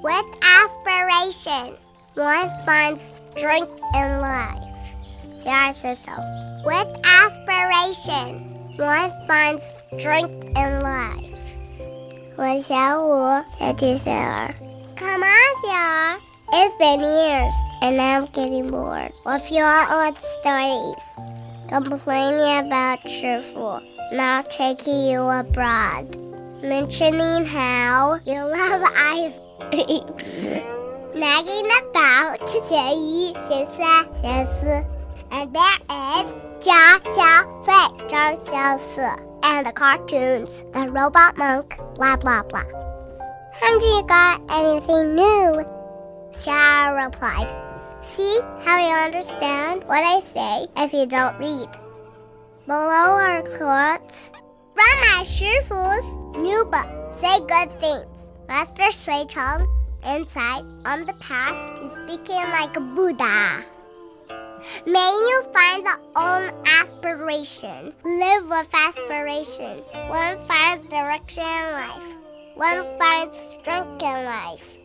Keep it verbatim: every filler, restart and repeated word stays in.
With aspiration, one finds strength in life. Sarah says so. With aspiration, one finds strength in life. 我小五，小弟小二。Come on, 小二。It's been years, and I'm getting bored of your old stories. Complaining about 师傅 not taking you abroad. Mentioning how you love ice cream. Nagging about 嫌一、嫌三、嫌四。And there is 家小费张小四 and the cartoons, the robot monk, blah blah blah. Haven't you got anything new? Sarah replied. See how you understand what I say if you don't read. Below are quotes from my 师傅's new book. Say good things. Master Shui Cheng, insight on the path to speaking like a Buddha. May you find the own aspiration. Live with aspiration. One finds direction in life. One finds strength in life.